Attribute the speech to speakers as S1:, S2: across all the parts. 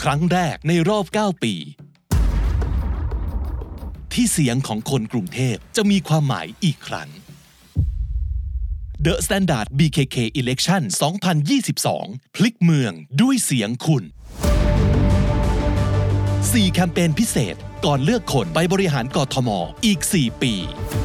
S1: ครั้งแรกในรอบ9 ปีที่เสียงของคนกรุงเทพจะมีความหมายอีกครั้ง The Standard BKK Election 2022 พลิกเมืองด้วยเสียงคุณ4 แคมเปญพิเศษก่อนเลือกคนไปบริหารกทม.อีก 4 ปี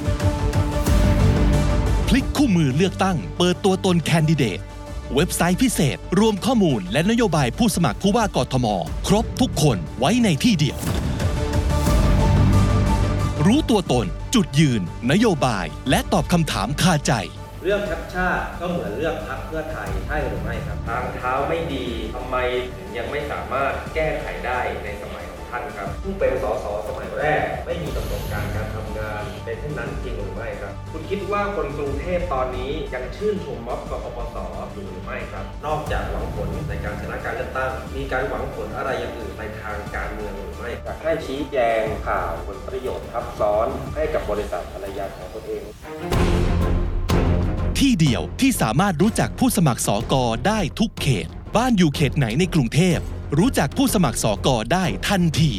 S1: พลิกคู่มือเลือกตั้งเปิดตัวตนแคนดิเดตเว็บไซต์พิเศษรวมข้อมูลและนโยบายผู้สมัครผู้ว่ากทม.ครบทุกคนไว้ในที่เดียวรู้ตัวตนจุดยืนนโยบายและตอบคำถามคาใจ
S2: เรื่องชัดชาติก็เหมือนเรื่องพรรคเพื่อไทยใช่หรือไม่ครับทางเท้าไม่ดีทำไมถึงยังไม่สามารถแก้ไขได้ในสมัยของท่านครับผู้เป็นสสสมัยแรกไม่มีประสบการณ์การทำงานเป็นเช่นนั้นจริงหรือไม่ครับคุณคิดว่าคนกรุงเทพตอนนี้ยังชื่นชมม็อบกปปสอยู่หรือไม่ครับนอกจากหวังผลในการชนะการเลือกตั้งมีการหวังผลอะไรอย่างอื่นในทางการเมืองหรือไม่อยากให้ชี้แจงข่าวผลประโยชน์ทับซ้อนให้กับบริษัทภรรยาของตนเอง
S1: ที่เดียวที่สามารถรู้จักผู้สมัครสก.ได้ทุกเขตบ้านอยู่เขตไหนในกรุงเทพรู้จักผู้สมัครสก.ได้ทันที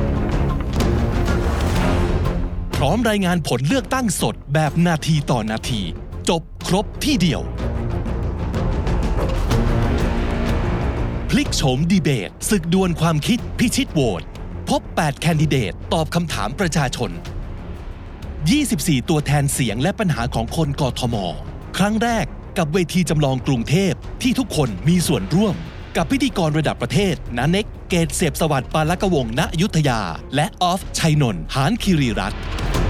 S1: พร้อมรายงานผลเลือกตั้งสดแบบนาทีต่อนาทีจบครบที่เดียวพลิกโฉมดีเบตศึกดวลความคิดพิชิตโหวตพบ8 แคนดิเดตตอบคำถามประชาชน24 ตัวแทนเสียงและปัญหาของคนกทม.ครั้งแรกกับเวทีจำลองกรุงเทพที่ทุกคนมีส่วนร่วมกับพิธีกรระดับประเทศณเน็กเกตเสพสวัสดิ์ปาลกวงศ์ณอยุธยาและออฟชัยนนท์หานคีรีรัตน์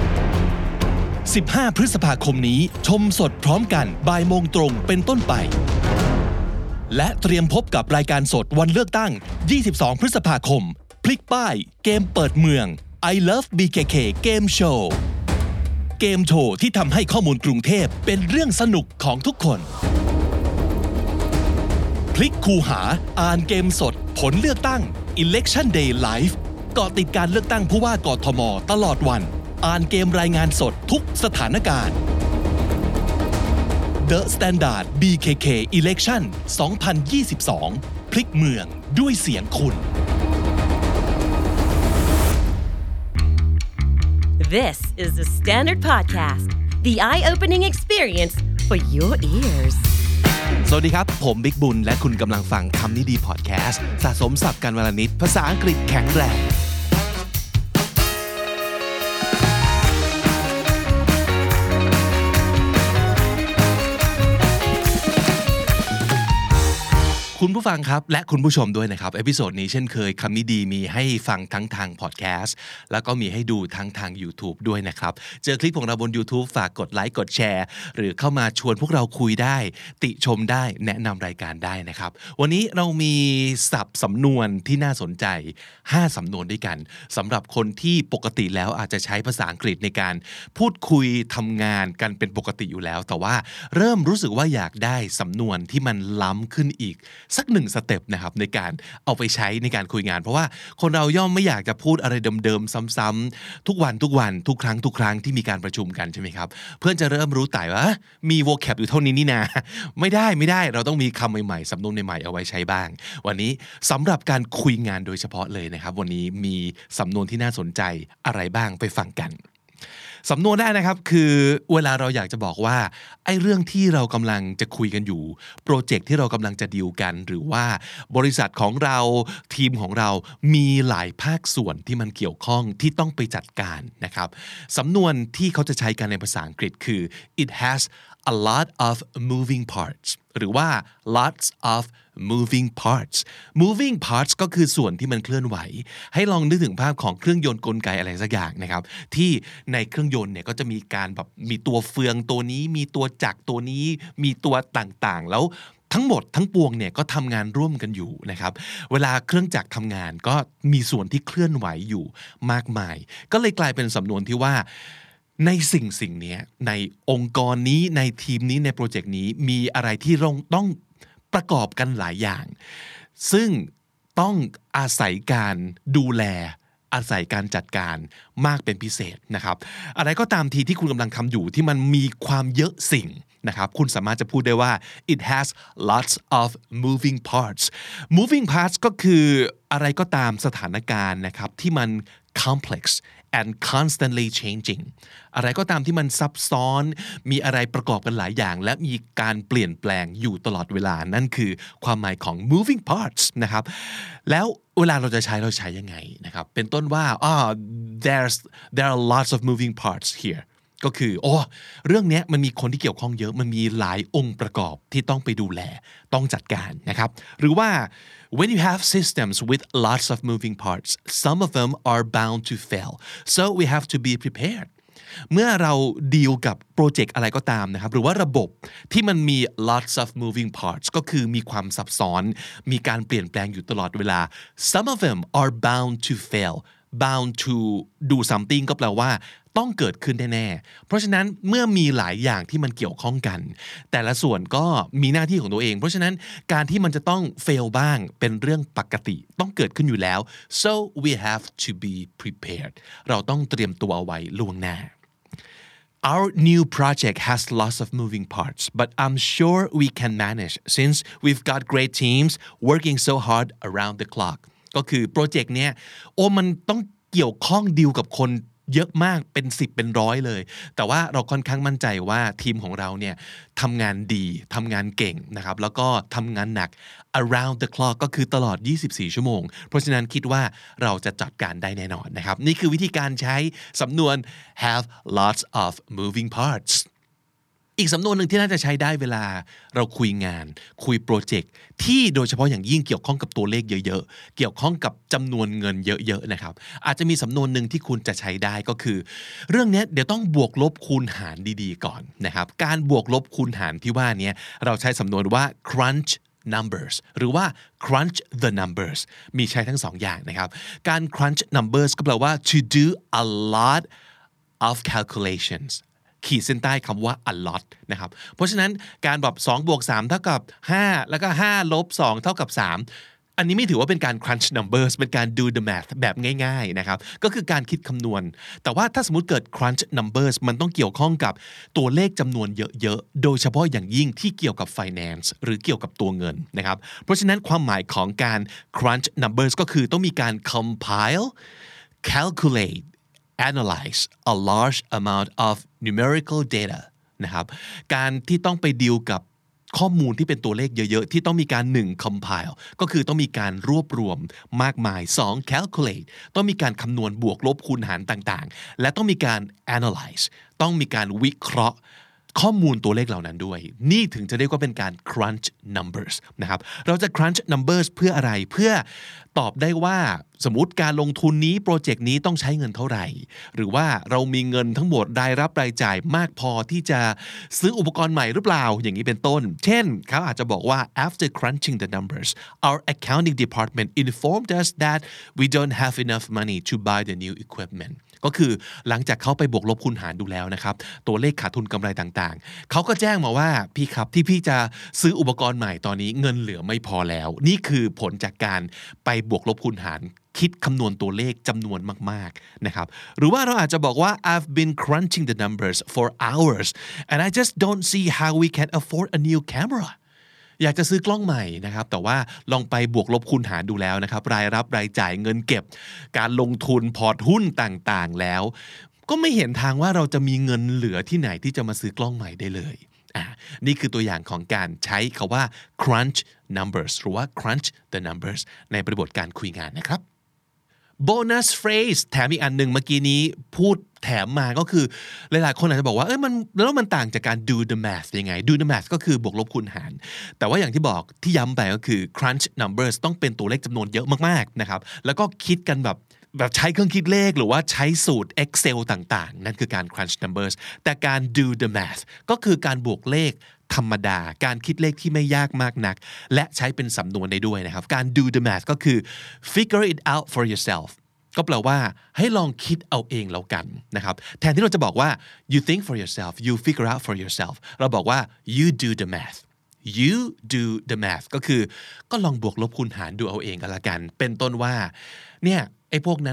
S1: 15 พฤษภาคมนี้ชมสดพร้อมกันบ่ายโมงตรงเป็นต้นไปและเตรียมพบกับรายการสดวันเลือกตั้ง22 พฤษภาคมพลิกป้ายเกมเปิดเมือง I Love BKK Game Showเกมโชว์ที่ทำให้ข้อมูลกรุงเทพเป็นเรื่องสนุกของทุกคนพลิกคูหาอ่านเกมสดผลเลือกตั้ง Election Day Live เกาะติดการเลือกตั้งผู้ว่ากทม.ตลอดวันอ่านเกมรายงานสดทุกสถานการณ์ The Standard BKK Election 2022 พลิกเมืองด้วยเสียงคุณ
S3: This is the Standard Podcast, the eye-opening experience for your ears.
S1: สวัสดีครับผมบิ๊กบุญและคุณกำลังฟังคำนี้ดีพอดแคสต์สะสมศัพท์กันวันละนิดภาษาอังกฤษแข็งแรงคุณผู้ฟังครับและคุณผู้ชมด้วยนะครับเอพิโซดนี้เช่นเคยคำนี้ดีมีให้ฟังทั้งทางพอดแคสต์แล้วก็มีให้ดูทั้งทาง YouTube ด้วยนะครับเจอคลิปของเราบน YouTube ฝากกดไลค์กดแชร์หรือเข้ามาชวนพวกเราคุยได้ติชมได้แนะนำรายการได้นะครับวันนี้เรามีศัพท์สำนวนที่น่าสนใจ5 สำนวนด้วยกันสำหรับคนที่ปกติแล้วอาจจะใช้ภาษาอังกฤษในการพูดคุยทำงานกันเป็นปกติอยู่แล้วแต่ว่าเริ่มรู้สึกว่าอยากได้สำนวนที่มันล้ำขึ้นอีกสัก1 สเต็ปนะครับในการเอาไปใช้ในการคุยงานเพราะว่าคนเราย่อมไม่อยากจะพูดอะไรเดิมๆซ้ำๆทุกวันทุกครั้งที่มีการประชุมกันใช่ไหมครับเพื่อนจะเริ่มรู้ไต่ว่ามี vocab อยู่เท่านี้นี่นะไม่ได้เราต้องมีคำใหม่ๆสำนวนใหม่ๆเอาไว้ใช้บ้างวันนี้สำหรับการคุยงานโดยเฉพาะเลยนะครับวันนี้มีสำนวนที่น่าสนใจอะไรบ้างไปฟังกันสำนวนแรกนะครับคือเวลาเราอยากจะบอกว่าไอ้เรื่องที่เรากำลังจะคุยกันอยู่โปรเจกต์ที่เรากำลังจะดีลกันหรือว่าบริษัทของเราทีมของเรามีหลายภาคส่วนที่มันเกี่ยวข้องที่ต้องไปจัดการนะครับสำนวนที่เขาจะใช้กันในภาษาอังกฤษคือ it has a lot of moving parts หรือว่า lots of moving parts ก็คือส่วนที่มันเคลื่อนไหวให้ลองนึกถึงภาพของเครื่องยนต์กลไกอะไรสักอย่างนะครับที่ในเครื่องยนต์เนี่ยก็จะมีการแบบมีตัวเฟืองตัวนี้มีตัวจักรตัวนี้มีตัวต่างๆแล้วทั้งหมดทั้งปวงเนี่ยก็ทำงานร่วมกันอยู่นะครับเวลาเครื่องจักรทำงานก็มีส่วนที่เคลื่อนไหวอยู่มากมายก็เลยกลายเป็นสำนวนที่ว่าในสิ่งนี้ในองค์กรนี้ในทีมนี้ในโปรเจกต์นี้มีอะไรที่ต้องประกอบกันหลายอย่างซึ่งต้องอาศัยการดูแลอาศัยการจัดการมากเป็นพิเศษนะครับอะไรก็ตามทีที่คุณกำลังทำอยู่ที่มันมีความเยอะสิ่งนะครับคุณสามารถจะพูดได้ว่า it has lots of moving parts ก็คืออะไรก็ตามสถานการณ์นะครับที่มัน complex and constantly changing อะไรก็ตามที่มันซับซ้อนมีอะไรประกอบกันหลายอย่างและมีการเปลี่ยนแปลงอยู่ตลอดเวลานั่นคือความหมายของ moving parts นะครับแล้วเวลาเราจะใช้ยังไงนะครับเป็นต้นว่าthere are lots of moving parts here ก็คือเรื่องนี้มันมีคนที่เกี่ยวข้องเยอะมันมีหลายองค์ประกอบที่ต้องไปดูแลต้องจัดการนะครับหรือว่า when you have systems with lots of moving parts some of them are bound to fail so we have to be prepared เมื่อเราดีลกับโปรเจกต์อะไรก็ตามนะครับหรือว่าระบบที่มันมี lots of moving parts ก็คือมีความซับซ้อนมีการเปลี่ยนแปลงอยู่ตลอดเวลา some of them are bound to fail bound to do something ก็แปลว่าต้องเกิดขึ้นแน่ๆเพราะฉะนั้นเมื่อมีหลายอย่างที่มันเกี่ยวข้องกันแต่ละส่วนก็มีหน้าที่ของตัวเองเพราะฉะนั้นการที่มันจะต้อง fail บ้างเป็นเรื่องปกติต้องเกิดขึ้นอยู่แล้ว so we have to be prepared เราต้องเตรียมตัวเอาไว้ล่วงหน้าOur new project has lots of moving parts, but I'm sure we can manage since we've got great teams working so hard around the clock. ก็คือโปรเจกต์เนี้ยมันต้องเกี่ยวข้องดีลกับคนเยอะมากเป็น10เป็นร้อยเลยแต่ว่าเราค่อนข้างมั่นใจว่าทีมของเราเนี่ยทำงานดีทำงานเก่งนะครับแล้วก็ทำงานหนัก around the clock ก็คือตลอด24ชั่วโมงเพราะฉะนั้นคิดว่าเราจะจัดการได้แน่นอนนะครับนี่คือวิธีการใช้สำนวน have lots of moving partsอีกสำนวนหนึ่งที่น่าจะใช้ได้เวลาเราคุยงานคุยโปรเจกต์ที่โดยเฉพาะอย่างยิ่งเกี่ยวข้องกับตัวเลขเยอะๆเกี่ยวข้องกับจำนวนเงินเยอะๆนะครับอาจจะมีสำนวนหนึ่งที่คุณจะใช้ได้ก็คือเรื่องนี้เดี๋ยวต้องบวกลบคูณหารดีๆก่อนนะครับการบวกลบคูณหารที่ว่านี้เราใช้สำนวนว่า crunch numbers หรือว่า crunch the numbers มีใช้ทั้งสองอย่างนะครับการ crunch numbers ก็แปลว่า to do a lot of calculationsขีดเส้นใต้คำว่า a lot นะครับเพราะฉะนั้นการแบบ2บวก3เท่ากับ5แล้วก็5ลบ2เท่ากับ3อันนี้ไม่ถือว่าเป็นการ crunch numbers เป็นการ do the math แบบง่ายๆนะครับก็คือการคิดคำนวณแต่ว่าถ้าสมมุติเกิด crunch numbers มันต้องเกี่ยวข้องกับตัวเลขจำนวนเยอะๆโดยเฉพาะอย่างยิ่งที่เกี่ยวกับ finance หรือเกี่ยวกับตัวเงินนะครับเพราะฉะนั้นความหมายของการ crunch numbers ก็คือต้องมีการ compile calculate analyze a large amount of numerical data นะครับการที่ต้องไปดีลกับข้อมูลที่เป็นตัวเลขเยอะๆที่ต้องมีการ1 compile ก็คือต้องมีการรวบรวมมากมาย2 calculate ต้องมีการคำนวณบวกลบคูณหารต่างๆและต้องมีการ analyze ต้องมีการวิเคราะห์ข้อมูลตัวเลขเหล่านั้นด้วยนี่ถึงจะเรียกว่าเป็นการ crunch numbers นะครับเราจะ crunch numbers เพื่ออะไรเพื่อตอบได้ว่าสมมุติการลงทุนนี้โปรเจกต์นี้ต้องใช้เงินเท่าไหร่หรือว่าเรามีเงินทั้งหมดรายรับรายจ่ายมากพอที่จะซื้ออุปกรณ์ใหม่หรือเปล่าอย่างนี้เป็นต้นเช่นเขาอาจจะบอกว่า after crunching the numbers our accounting department informed us that we don't have enough money to buy the new equipment ก็คือหลังจากเขาไปบวกลบคูณหารดูแล้วนะครับตัวเลขขาดทุนกำไรต่างๆเขาก็แจ้งมาว่าพี่ครับที่พี่จะซื้ออุปกรณ์ใหม่ตอนนี้เงินเหลือไม่พอแล้วนี่คือผลจากการไปบวกลบคูณหารคิดคำนวณตัวเลขจำนวนมากๆนะครับหรือว่าเราอาจจะบอกว่า I've been crunching the numbers for hours and I just don't see how we can afford a new cameraอยากจะซื้อกล้องใหม่นะครับแต่ว่าลองไปบวกลบคูณหารดูแล้วนะครับรายรับรายจ่ายเงินเก็บการลงทุนพอร์ตหุ้นต่างๆแล้วก็ไม่เห็นทางว่าเราจะมีเงินเหลือที่ไหนที่จะมาซื้อกล้องใหม่ได้เลยนี่คือตัวอย่างของการใช้คำว่า crunch numbers หรือว่า crunch the numbers ในบริบทการคุยงานนะครับ bonus phrase แถมอีกอันหนึ่งเมื่อกี้นี้พูดแถมมาก็คือหลายๆคนอาจจะบอกว่ามันต่างจากการ do the math ยังไง do the math ก็คือบวกลบคูณหารแต่ว่าอย่างที่บอกที่ย้ำไปก็คือ crunch numbers ต้องเป็นตัวเลขจำนวนเยอะมากๆนะครับแล้วก็คิดกันแบบใช้เครื่องคิดเลขหรือว่าใช้สูตร Excel ต่างๆนั่นคือการ crunch numbers แต่การ do the math ก็คือการบวกเลขธรรมดาการคิดเลขที่ไม่ยากมากนักและใช้เป็นสำนวนได้ด้วยนะครับการ do the math ก็คือ figure it out for yourself ก็แปลว่าให้ลองคิดเอาเองแล้วกันนะครับแทนที่เราจะบอกว่า you think for yourself you figure out for yourself เราบอกว่า you do the math you do the math ก็คือก็ลองบวกลบคูณหารดูเอาเองกันละกันเป็นต้นว่าเนี่ยไอ้พวกนั้นเนี่ย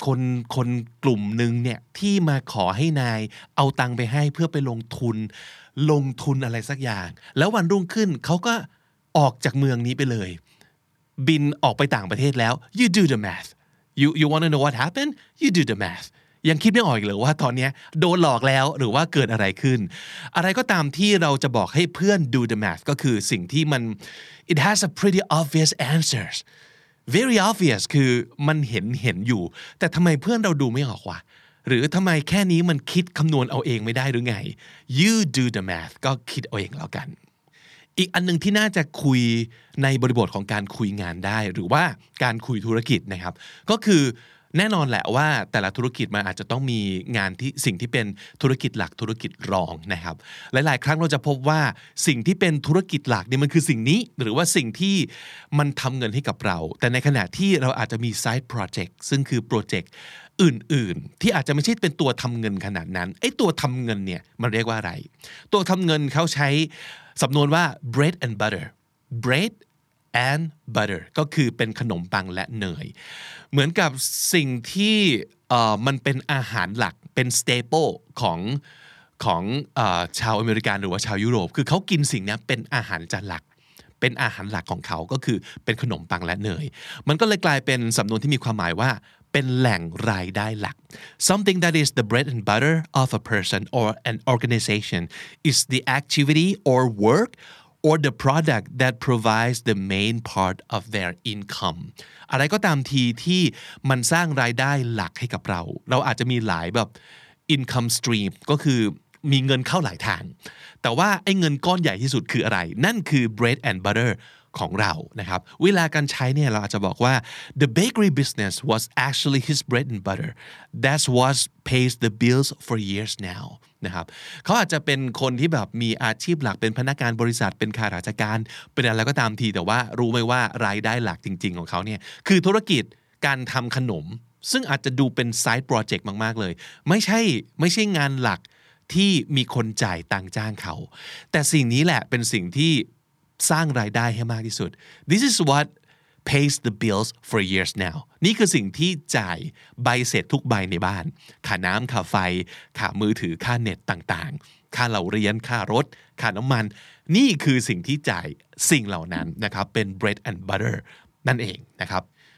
S1: คนกลุ่มหนึ่งเนี่ยที่มาขอให้นายเอาตังค์ไปให้เพื่อไปลงทุนอะไรสักอย่างแล้ววันรุ่งขึ้นเขาก็ออกจากเมืองนี้ไปเลยบินออกไปต่างประเทศแล้ว you do the math you want to know what happened you do the math ยังคิดไม่ออกอีกเลยว่าตอนนี้โดนหลอกแล้วหรือว่าเกิดอะไรขึ้นอะไรก็ตามที่เราจะบอกให้เพื่อน do the math ก็คือสิ่งที่มัน it has a pretty obvious answers very obvious คือมันเห็นอยู่แต่ทำไมเพื่อนเราดูไม่ออกวะหรือทำไมแค่นี้มันคิดคำนวณเอาเองไม่ได้หรือไง you do the math ก็คิดเอาเองแล้วกันอีกอันนึงที่น่าจะคุยในบริบทของการคุยงานได้หรือว่าการคุยธุรกิจนะครับก็คือแน่นอนแหละว่าแต่ละธุรกิจมันอาจจะต้องมีงานที่สิ่งที่เป็นธุรกิจหลักธุรกิจรองนะครับหลายๆครั้งเราจะพบว่าสิ่งที่เป็นธุรกิจหลักเนี่ยมันคือสิ่งนี้หรือว่าสิ่งที่มันทำเงินให้กับเราแต่ในขณะที่เราอาจจะมี side project ซึ่งคือโปรเจกต์อื่นๆที่อาจจะไม่ใช่เป็นตัวทำเงินขนาดนั้นไอ้ตัวทำเงินเนี่ยมันเรียกว่าอะไรตัวทำเงินเขาใช้สำนวนว่า bread and butter and butter ก็คือเป็นขนมปังและเนยเหมือนกับสิ่งที่มันเป็นอาหารหลักเป็น staple ของชาวอเมริกันหรือว่าชาวยุโรปคือเขากินสิ่งนี้เป็นอาหารจานหลักเป็นอาหารหลักของเขาก็คือเป็นขนมปังและเนยมันก็เลยกลายเป็นสำนวนที่มีความหมายว่าเป็นแหล่งรายได้หลัก something that is the bread and butter of a person or an organization is the activity or work or the product that provides the main part of their income อะไรก็ตามทีที่มันสร้างรายได้หลักให้กับเราอาจจะมีหลายแบบ income stream ก็คือมีเงินเข้าหลายทางแต่ว่าไอ้เงินก้อนใหญ่ที่สุดคืออะไรนั่นคือ bread and butter ของเรานะครับเวลาการใช้เนี่ยเราอาจจะบอกว่า the bakery business was actually his bread and butter that's what pays the bills for years now นะครับเขาอาจจะเป็นคนที่แบบมีอาชีพหลักเป็นพนักงานบริษัทเป็นข้าราชการเป็นอะไรก็ตามทีแต่ว่ารู้ไหมว่ารายได้หลักจริงๆของเขาเนี่ยคือธุรกิจการทำขนมซึ่งอาจจะดูเป็น side project มากๆเลยไม่ใช่งานหลักที่มีคนจ่ายตังค์จ้างเขาแต่สิ่งนี้แหละเป็นสิ่งที่สร้างรายได้ให้มากที่สุด This is what pays the bills for years now นี่คือสิ่งที่จ่ายใบเสร็จทุกใบในบ้านค่าน้ำค่าไฟค่ามือถือค่าเน็ตต่างๆค่าเราเรียนค่ารถค่าน้ำมันนี่คือสิ่งที่จ่ายสิ่งเหล่านั้นนะครับเป็น bread and butter นั่นเองนะครับ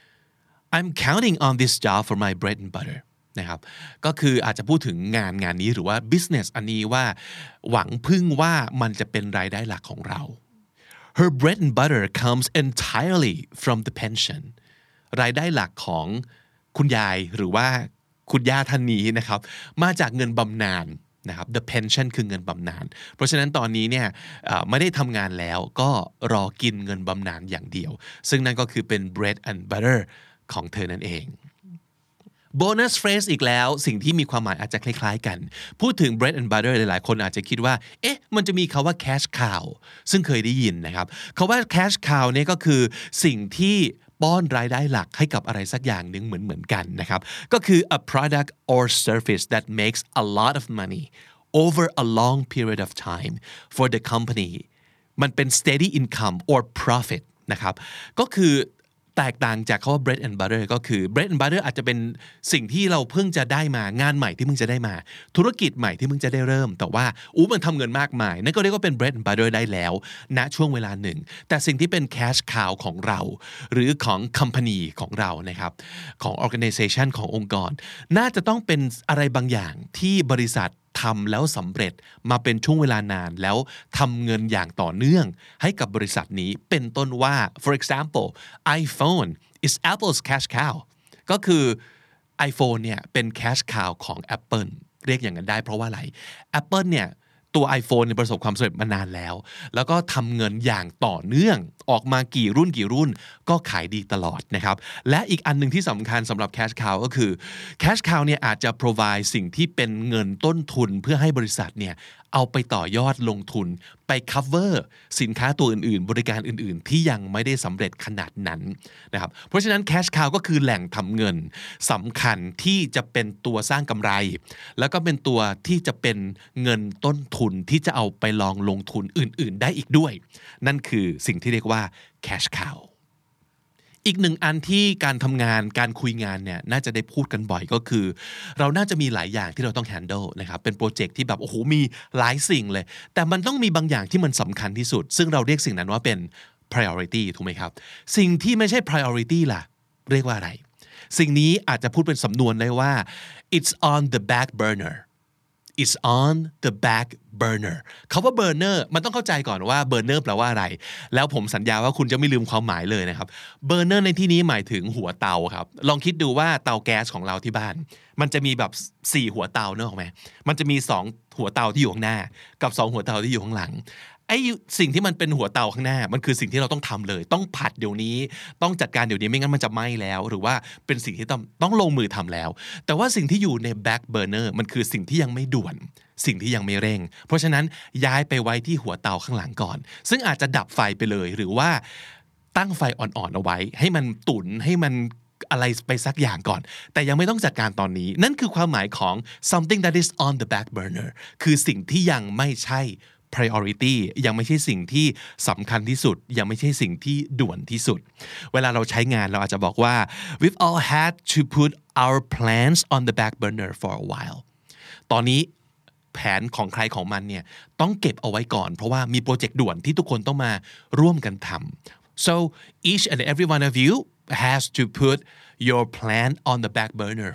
S1: I'm counting on this job for my bread and butterนะครับก็คืออาจจะพูดถึงงานนี้หรือว่า business อันนี้ว่าหวังพึ่งว่ามันจะเป็นรายได้หลักของเรา Her bread and butter comes entirely from the pension รายได้หลักของคุณยายหรือว่าคุณย่าท่านนี้นะครับมาจากเงินบำนาญนะครับ the pension คือเงินบำนาญเพราะฉะนั้นตอนนี้เนี่ยไม่ได้ทำงานแล้วก็รอกินเงินบำนาญอย่างเดียวซึ่งนั่นก็คือเป็น bread and butter ของเธอนั่นเองbonus phrase อีกแล้วสิ่งที่มีความหมายอาจจะคล้ายๆกันพูดถึง bread and butter หลายๆคนอาจจะคิดว่าเอ๊ะมันจะมีคำว่า cash cow ซึ่งเคยได้ยินนะครับคำว่า cash cow เนี่ยก็คือสิ่งที่ป้อนรายได้หลักให้กับอะไรสักอย่างหนึ่งเหมือนกันนะครับก็คือ a product or service that makes a lot of money over a long period of time for the company มันเป็น steady income or profit นะครับก็คือแตกต่างจากคำว่า bread and butter ก็คือ bread and butter อาจจะเป็นสิ่งที่เราเพิ่งจะได้มางานใหม่ที่เพิ่งจะได้มาธุรกิจใหม่ที่เพิ่งจะได้เริ่มแต่ว่ามันทำเงินมากมายนั่นก็เรียกว่าเป็น bread and butter ได้แล้วณช่วงเวลาหนึ่งแต่สิ่งที่เป็น cash cow ของเราหรือของ company ของเรานะครับของ organization ขององค์กรน่าจะต้องเป็นอะไรบางอย่างที่บริษัททำแล้วสำเร็จมาเป็นช่วงเวลานานแล้วทำเงินอย่างต่อเนื่องให้กับบริษัทนี้เป็นต้นว่า for example iPhone is Apple's cash cow ก็คือ iPhone เนี่ยเป็น cash cow ของ Apple เรียกอย่างนั้นได้เพราะว่าอะไร Apple เนี่ยตัว iPhone ประสบความสำเร็จมานานแล้วก็ทำเงินอย่างต่อเนื่องออกมากี่รุ่นก็ขายดีตลอดนะครับและอีกอันนึงที่สำคัญสำหรับ cash cow ก็คือ cash cow เนี่ยอาจจะ provide สิ่งที่เป็นเงินต้นทุนเพื่อให้บริษัทเนี่ยเอาไปต่อยอดลงทุนไป cover สินค้าตัวอื่นๆบริการอื่นๆที่ยังไม่ได้สำเร็จขนาดนั้นนะครับเพราะฉะนั้น cash cow ก็คือแหล่งทำเงินสำคัญที่จะเป็นตัวสร้างกำไรแล้วก็เป็นตัวที่จะเป็นเงินต้นทุนที่จะเอาไปลองลงทุนอื่นๆได้อีกด้วยนั่นคือสิ่งที่เรียกว่า cash cow อีกหนึ่งอันที่การทำงานการคุยงานเนี่ยน่าจะได้พูดกันบ่อยก็คือเราน่าจะมีหลายอย่างที่เราต้อง handle นะครับเป็นโปรเจกต์ที่แบบโอ้โหมีหลายสิ่งเลยแต่มันต้องมีบางอย่างที่มันสำคัญที่สุดซึ่งเราเรียกสิ่งนั้นว่าเป็น priority ถูกไหมครับสิ่งที่ไม่ใช่ priority ล่ะเรียกว่าอะไรสิ่งนี้อาจจะพูดเป็นสำนวนได้ว่า it's on the back burner it's on the back burner คำว่า burner มันต้องเข้าใจก่อนว่า burner แปลว่าอะไรแล้วผมสัญญาว่าคุณจะไม่ลืมความหมายเลยนะครับ burner ในที่นี้หมายถึงหัวเตาครับลองคิดดูว่าเตาแก๊สของเราที่บ้านมันจะมีแบบ4หัวเตาเนอะถูกไหมมันจะมี2หัวเตาที่อยู่ข้างหน้ากับ2หัวเตาที่อยู่ข้างหลังไอ้สิ่งที่มันเป็นหัวเตาข้างหน้ามันคือสิ่งที่เราต้องทำเลยต้องผัดเดี๋ยวนี้ต้องจัดการเดี๋ยวนี้ไม่งั้นมันจะไหม้แล้วหรือว่าเป็นสิ่งที่ต้องลงมือทำแล้วแต่ว่าสิ่งที่อยู่ใน back burner มันคือสิ่งที่ยังไม่ด่วนสิ่งที่ยังไม่เร่งเพราะฉะนั้นย้ายไปไว้ที่หัวเตาข้างหลังก่อนซึ่งอาจจะดับไฟไปเลยหรือว่าตั้งไฟอ่อนๆเอาไว้ให้มันตุ๋นให้มันอะไรไปสักอย่างก่อนแต่ยังไม่ต้องจัดการตอนนี้นั่นคือความหมายของ something that is on the back burner คือสิ่งที่ยังไม่ใช่priority ยังไม่ใช่สิ่งที่สำคัญที่สุดยังไม่ใช่สิ่งที่ด่วนที่สุดเวลาเราใช้งานเราอาจจะบอกว่า we've all had to put our plans on the back burner for a while ตอนนี้แผนของใครของมันเนี่ยต้องเก็บเอาไว้ก่อนเพราะว่ามีโปรเจกต์ด่วนที่ทุกคนต้องมาร่วมกันทำ so each and every one of you has to put your plan on the back burner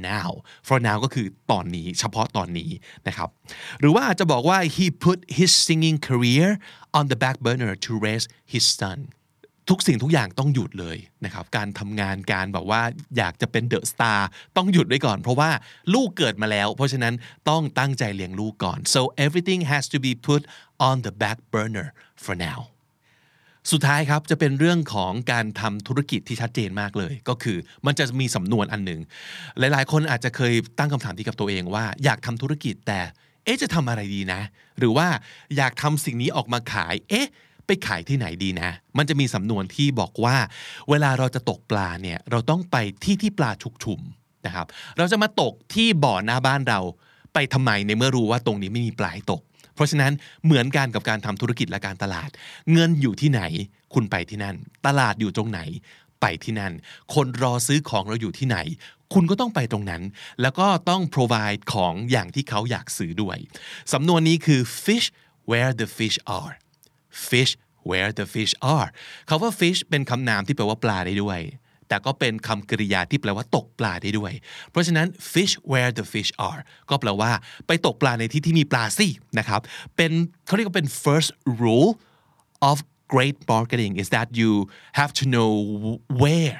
S1: for now ก็คือตอนนี้เฉพาะตอนนี้นะครับหรือว่าอาจจะบอกว่า he put his singing career on the back burner to raise his son ทุกสิ่งทุกอย่างต้องหยุดเลยนะครับการทำงานการแบบว่าอยากจะเป็นเดอะสตาร์ต้องหยุดไว้ก่อนเพราะว่าลูกเกิดมาแล้วเพราะฉะนั้นต้องตั้งใจเลี้ยงลูกก่อน so everything has to be put on the back burner for nowสุดท้ายครับจะเป็นเรื่องของการทำธุรกิจที่ชัดเจนมากเลยก็คือมันจะมีสำนวนอันหนึ่งหลายๆคนอาจจะเคยตั้งคำถามที่กับตัวเองว่าอยากทำธุรกิจแต่จะทำอะไรดีนะหรือว่าอยากทำสิ่งนี้ออกมาขายไปขายที่ไหนดีนะมันจะมีสำนวนที่บอกว่าเวลาเราจะตกปลาเนี่ยเราต้องไปที่ปลาชุกชุมนะครับเราจะมาตกที่บ่อหน้าบ้านเราไปทำไมในเมื่อรู้ว่าตรงนี้ไม่มีปลาให้ตกเพราะฉะนั้นเหมือนกันกับการทำธุรกิจและการตลาดเงินอยู่ที่ไหนคุณไปที่นั่นตลาดอยู่ตรงไหนไปที่นั่นคนรอซื้อของเราอยู่ที่ไหนคุณก็ต้องไปตรงนั้นแล้วก็ต้อง provide ของอย่างที่เขาอยากซื้อด้วยสำนวนนี้คือ fish where the fish are fish where the fish are คำว่า fish เป็นคำนามที่แปลว่าปลาได้ด้วยแต่ก็เป็นคำกริยาที่แปลว่าตกปลาได้ด้วยเพราะฉะนั้น fish where the fish are ก็แปลว่าไปตกปลาในที่ที่มีปลาสินะครับเป็นเขาเรียกว่าเป็น first rule of great marketing is that you have to know where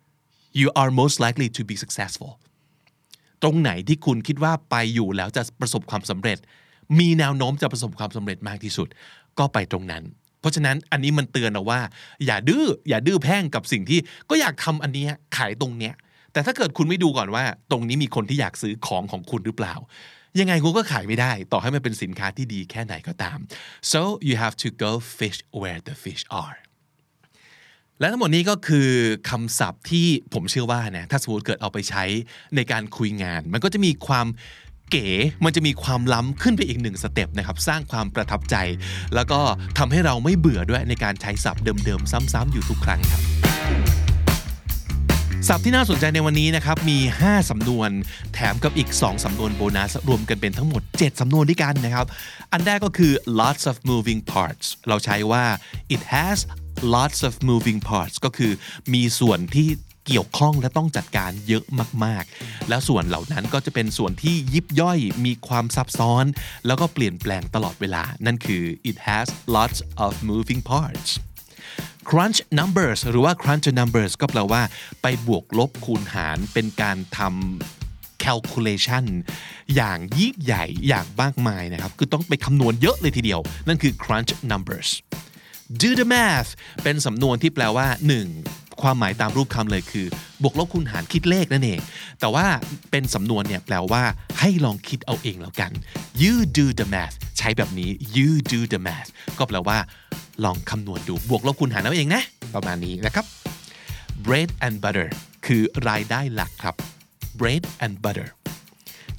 S1: you are most likely to be successful ตรงไหนที่คุณคิดว่าไปอยู่แล้วจะประสบความสำเร็จมีแนวโน้มจะประสบความสำเร็จมากที่สุดก็ไปตรงนั้นเพราะฉะนั้นอันนี้มันเตือนเอาว่าอย่าดื้อแพ่งกับสิ่งที่ก็อยากทำอันนี้ขายตรงเนี้ยแต่ถ้าเกิดคุณไม่ดูก่อนว่าตรงนี้มีคนที่อยากซื้อของคุณหรือเปล่ายังไงคุณก็ขายไม่ได้ต่อให้มันเป็นสินค้าที่ดีแค่ไหนก็ตาม so you have to go fish where the fish are และทั้งหมดนี้ก็คือคำศัพท์ที่ผมเชื่อว่านะถ้าสมมติเกิดเอาไปใช้ในการคุยงานมันก็จะมีความเก๋มันจะมีความล้ำขึ้นไปอีก1สเต็ปนะครับสร้างความประทับใจแล้วก็ทำให้เราไม่เบื่อด้วยในการใช้ศัพท์เดิมๆซ้ำๆอยู่ทุกครั้งครับศัพท์ที่น่าสนใจในวันนี้นะครับมี5สำนวนแถมกับอีก2สำนวนโบนัสรวมกันเป็นทั้งหมด7สำนวนด้วยกันนะครับอันแรกก็คือ lots of moving parts เราใช้ว่า it has lots of moving parts ก็คือมีส่วนที่เกี่ยวข้องและต้องจัดการเยอะมากๆแล้วส่วนเหล่านั้นก็จะเป็นส่วนที่ยิบย่อยมีความซับซ้อนแล้วก็เปลี่ยนแปลงตลอดเวลานั่นคือ it has lots of moving parts crunch numbers หรือว่า crunch numbers ก็แปลว่าไปบวกลบคูณหารเป็นการทำ calculation อย่างยิ่งใหญ่อย่างมากมายนะครับคือต้องไปคำนวณเยอะเลยทีเดียวนั่นคือ crunch numbers do the math เป็นสำนวนที่แปลว่า 1. ความหมายตามรูปคำเลยคือบวกลบคูณหารคิดเลขนั่นเองแต่ว่าเป็นสำนวนเนี่ยแปลว่าให้ลองคิดเอาเองแล้วกัน you do the math ใช้แบบนี้ you do the math ก็แปลว่าลองคำนวณดูบวกลบคูณหารเอาเองนะประมาณนี้นะครับ bread and butter คือรายได้หลักครับ bread and butter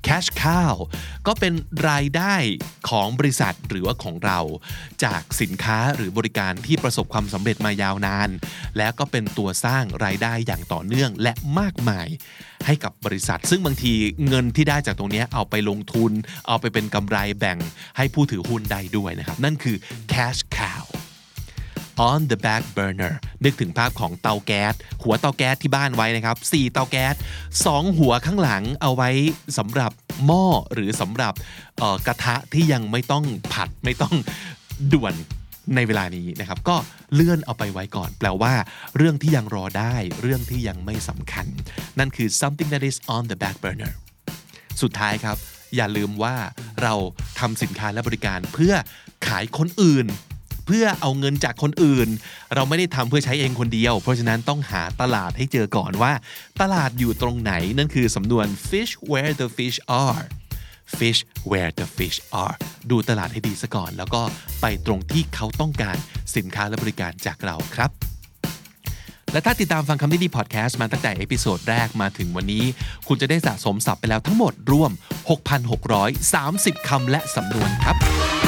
S1: cash cow ก็เป็นรายได้ของบริษัทหรือว่าของเราจากสินค้าหรือบริการที่ประสบความสำเร็จมายาวนานและก็เป็นตัวสร้างรายได้อย่างต่อเนื่องและมากมายให้กับบริษัทซึ่งบางทีเงินที่ได้จากตรงนี้เอาไปลงทุนเอาไปเป็นกำไรแบ่งให้ผู้ถือหุ้นได้ด้วยนะครับนั่นคือ cash cow on the back burner นึกถึงภาพของเตาแก๊สหัวเตาแก๊สที่บ้านไว้นะครับ4เตาแก๊ส2หัวข้างหลังเอาไว้สำหรับหม้อหรือสำหรับกระทะที่ยังไม่ต้องผัดไม่ต้องด่วนในเวลานี้นะครับก็เลื่อนเอาไปไว้ก่อนแปลว่าเรื่องที่ยังรอได้เรื่องที่ยังไม่สำคัญนั่นคือ something that is on the back burner สุดท้ายครับอย่าลืมว่าเราทำสินค้าและบริการเพื่อขายคนอื่นเพื่อเอาเงินจากคนอื่นเราไม่ได้ทำเพื่อใช้เองคนเดียวเพราะฉะนั้นต้องหาตลาดให้เจอก่อนว่าตลาดอยู่ตรงไหนนั่นคือสำนวน fish where the fish are fish where the fish are ดูตลาดให้ดีซะก่อนแล้วก็ไปตรงที่เขาต้องการสินค้าและบริการจากเราครับและถ้าติดตามฟังคำนี้ดีพอดแคสต์มาตั้งแต่เอพิโซดแรกมาถึงวันนี้คุณจะได้สะสมศัพท์ไปแล้วทั้งหมดรวม 6,630 คำและสำนวนครับ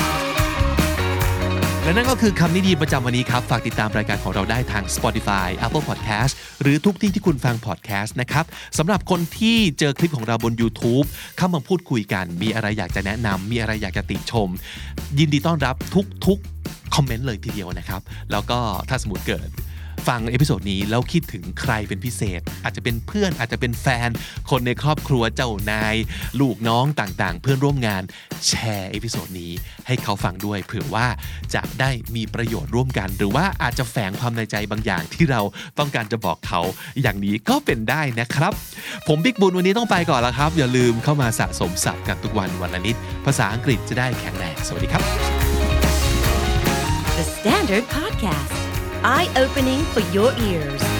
S1: และนั่นก็คือคำนี้ดีประจำวันนี้ครับฝากติดตามรายการของเราได้ทาง Spotify Apple Podcast หรือทุกที่ที่คุณฟัง podcast นะครับสำหรับคนที่เจอคลิปของเราบน YouTube เข้ามาพูดคุยกันมีอะไรอยากจะแนะนำมีอะไรอยากจะติชมยินดีต้อนรับทุกคอมเมนต์เลยทีเดียวนะครับแล้วก็ถ้าสมมุติเกิดฟังเอพิโซดนี้แล้วคิดถึงใครเป็นพิเศษอาจจะเป็นเพื่อนอาจจะเป็นแฟนคนในครอบครัวเจ้านายลูกน้องต่างๆเพื่อนร่วมงานแชร์เอพิโซดนี้ให้เขาฟังด้วยเผื่อว่าจะได้มีประโยชน์ร่วมกันหรือว่าอาจจะแฝงความในใจบางอย่างที่เราต้องการจะบอกเขาอย่างนี้ก็เป็นได้นะครับผมบิ๊กบุญวันนี้ต้องไปก่อนแล้วครับอย่าลืมเข้ามาสะสมศัพท์กันทุกวันวันละนิดภาษาอังกฤษจะได้แข็งแรงสวัสดีครับ
S3: The Standard Podcast Eye-opening for your ears